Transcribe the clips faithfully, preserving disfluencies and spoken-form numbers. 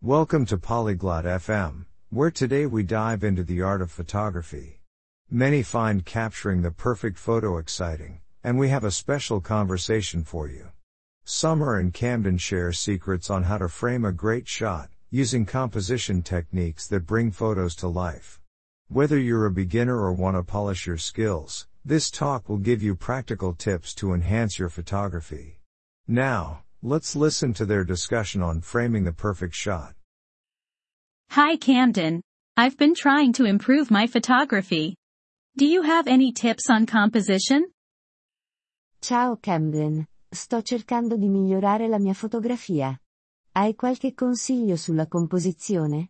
Welcome to Polyglot F M, where today we dive into the art of photography. Many find capturing the perfect photo exciting, and we have a special conversation for you. Summer and Camden share secrets on how to frame a great shot, using composition techniques that bring photos to life. Whether you're a beginner or want to polish your skills, this talk will give you practical tips to enhance your photography. Now, let's listen to their discussion on framing the perfect shot. Hi Camden. I've been trying to improve my photography. Do you have any tips on composition? Ciao Camden, sto cercando di migliorare la mia fotografia. Hai qualche consiglio sulla composizione?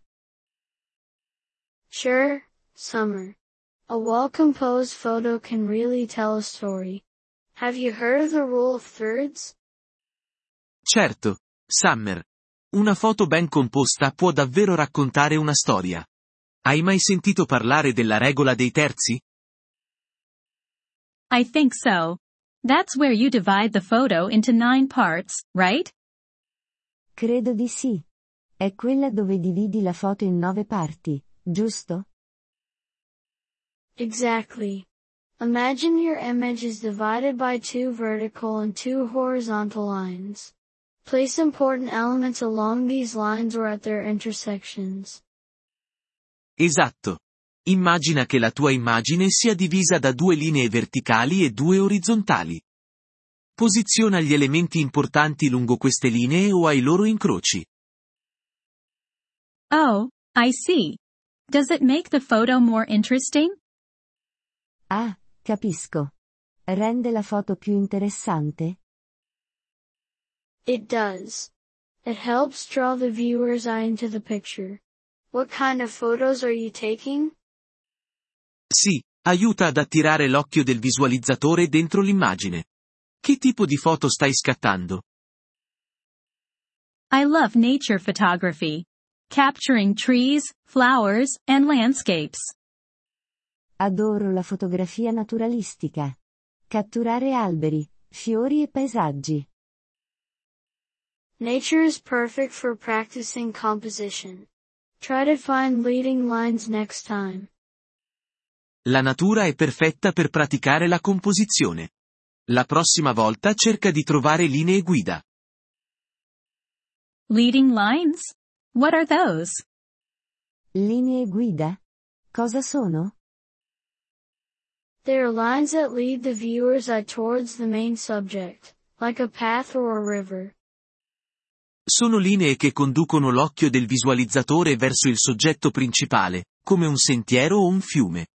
Sure, Summer. A well-composed photo can really tell a story. Have you heard of the rule of thirds? Certo, Summer. Una foto ben composta può davvero raccontare una storia. Hai mai sentito parlare della regola dei terzi? I think so. That's where you divide the photo into nine parts, right? Credo di sì. È quella dove dividi la foto in nove parti, giusto? Exactly. Imagine your image is divided by two vertical and two horizontal lines. Place important elements along these lines or at their intersections. Esatto. Immagina che la tua immagine sia divisa da due linee verticali e due orizzontali. Posiziona gli elementi importanti lungo queste linee o ai loro incroci. Oh, I see. Does it make the photo more interesting? Ah, capisco. Rende la foto più interessante? It does. It helps draw the viewer's eye into the picture. What kind of photos are you taking? Sì, aiuta ad attirare l'occhio del visualizzatore dentro l'immagine. Che tipo di foto stai scattando? I love nature photography. Capturing trees, flowers, and landscapes. Adoro la fotografia naturalistica. Catturare alberi, fiori e paesaggi. Nature is perfect for practicing composition. Try to find leading lines next time. La natura è perfetta per praticare la composizione. La prossima volta cerca di trovare linee guida. Leading lines? What are those? Linee guida? Cosa sono? They are lines that lead the viewer's eye towards the main subject, like a path or a river. Sono linee che conducono l'occhio del visualizzatore verso il soggetto principale, come un sentiero o un fiume.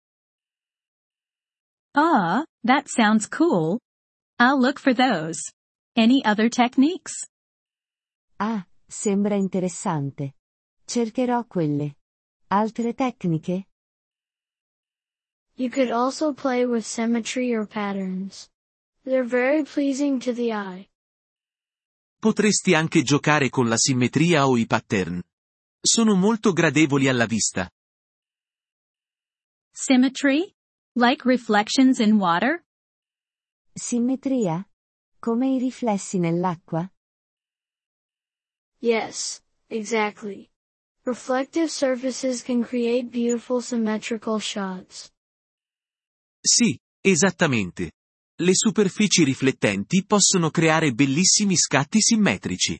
Ah, that sounds cool. I'll look for those. Any other techniques? Ah, sembra interessante. Cercherò quelle. Altre tecniche? You could also play with symmetry or patterns. They're very pleasing to the eye. Potresti anche giocare con la simmetria o i pattern. Sono molto gradevoli alla vista. Symmetry? Like reflections in water? Simmetria? Come i riflessi nell'acqua? Yes, exactly. Reflective surfaces can create beautiful symmetrical shots. Sì, esattamente. Le superfici riflettenti possono creare bellissimi scatti simmetrici.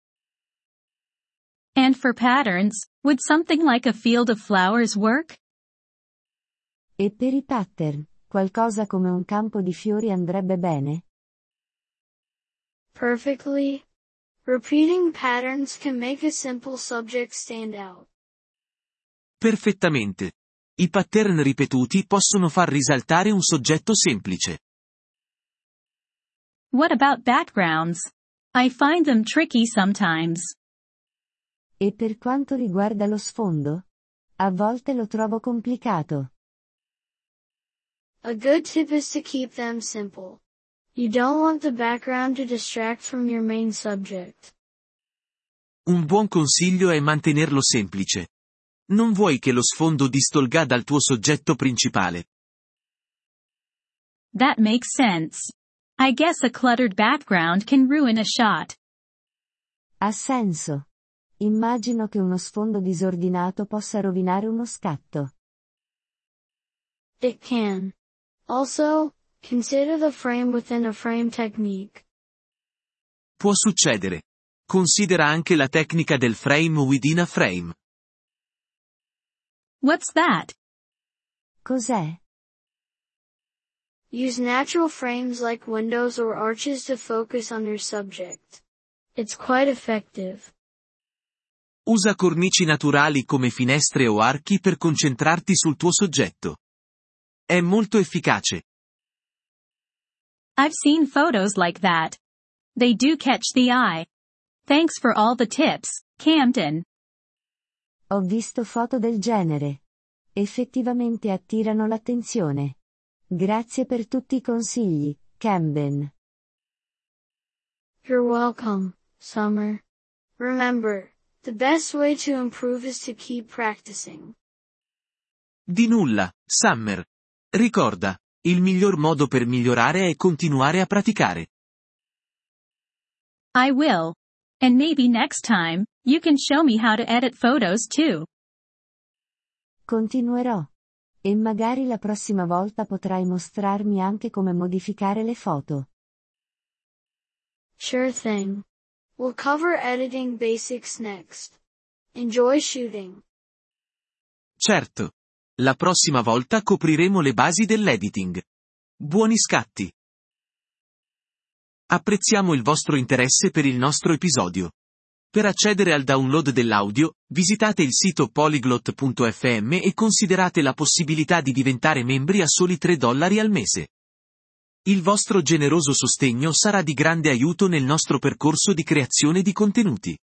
And for patterns, would something like a field of flowers work? E per i pattern, qualcosa come un campo di fiori andrebbe bene? Perfectly. Repeating patterns can make a simple subject stand out. Perfettamente. I pattern ripetuti possono far risaltare un soggetto semplice. What about backgrounds? I find them tricky sometimes. E per quanto riguarda lo sfondo? A volte lo trovo complicato. A good tip is to keep them simple. You don't want the background to distract from your main subject. Un buon consiglio è mantenerlo semplice. Non vuoi che lo sfondo distolga dal tuo soggetto principale. That makes sense. I guess a cluttered background can ruin a shot. Ha senso. Immagino che uno sfondo disordinato possa rovinare uno scatto. It can. Also, consider the frame within a frame technique. Può succedere. Considera anche la tecnica del frame within a frame. What's that? Cos'è? Use natural frames like windows or arches to focus on your subject. It's quite effective. Usa cornici naturali come finestre o archi per concentrarti sul tuo soggetto. È molto efficace. I've seen photos like that. They do catch the eye. Thanks for all the tips, Camden. Ho visto foto del genere. Effettivamente attirano l'attenzione. Grazie per tutti i consigli, Camden. You're welcome, Summer. Remember, the best way to improve is to keep practicing. Di nulla, Summer. Ricorda, il miglior modo per migliorare è continuare a praticare. I will. And maybe next time, you can show me how to edit photos too. Continuerò. E magari la prossima volta potrai mostrarmi anche come modificare le foto. Sure thing. We'll cover editing basics next. Enjoy shooting. Certo. La prossima volta copriremo le basi dell'editing. Buoni scatti! Apprezziamo il vostro interesse per il nostro episodio. Per accedere al download dell'audio, visitate il sito polyglot punto effe emme e considerate la possibilità di diventare membri a soli tre dollari al mese. Il vostro generoso sostegno sarà di grande aiuto nel nostro percorso di creazione di contenuti.